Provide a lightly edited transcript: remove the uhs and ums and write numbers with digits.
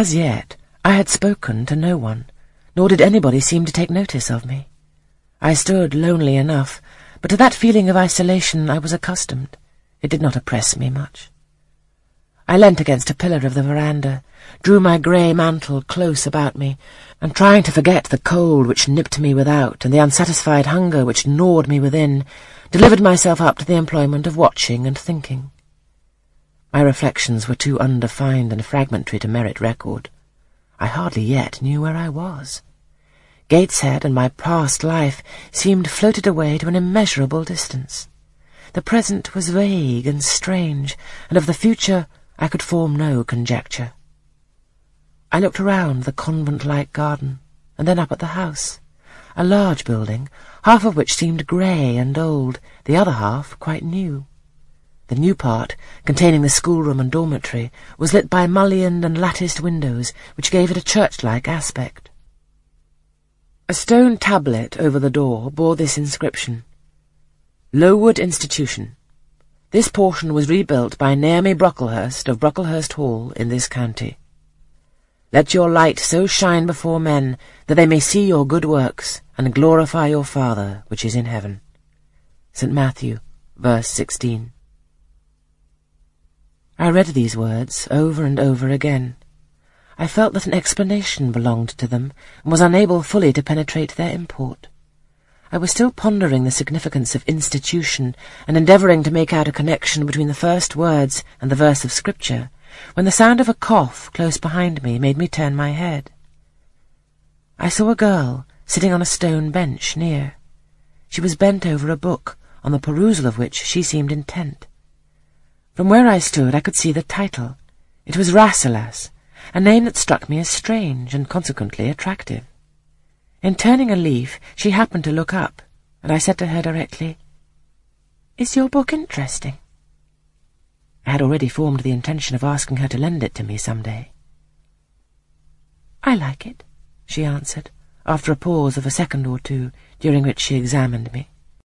As yet, I had spoken to no one, nor did anybody seem to take notice of me. I stood lonely enough, but to that feeling of isolation I was accustomed. It did not oppress me much. I leant against a pillar of the veranda, drew my grey mantle close about me, and trying to forget the cold which nipped me without and the unsatisfied hunger which gnawed me within, delivered myself up to the employment of watching and thinking. My reflections were too undefined and fragmentary to merit record. I hardly yet knew where I was. Gateshead and my past life seemed floated away to an immeasurable distance. The present was vague and strange, and of the future I could form no conjecture. I looked around the convent-like garden, and then up at the house, a large building, half of which seemed grey and old, the other half quite new. The new part, containing the schoolroom and dormitory, was lit by mullioned and latticed windows, which gave it a church-like aspect. A stone tablet over the door bore this inscription: Lowood Institution. This portion was rebuilt by Naomi Brocklehurst of Brocklehurst Hall in this county. Let your light so shine before men that they may see your good works and glorify your Father which is in heaven. St. Matthew, verse 16. I read these words over and over again. I felt that an explanation belonged to them, and was unable fully to penetrate their import. I was still pondering the significance of institution, and endeavouring to make out a connection between the first words and the verse of Scripture, when the sound of a cough close behind me made me turn my head. I saw a girl sitting on a stone bench near. She was bent over a book, on the perusal of which she seemed intent. From where I stood I could see the title. It was Rasselas, a name that struck me as strange and consequently attractive. In turning a leaf, she happened to look up, and I said to her directly, "Is your book interesting?" I had already formed the intention of asking her to lend it to me some day. "I like it," she answered, after a pause of a second or two, during which she examined me.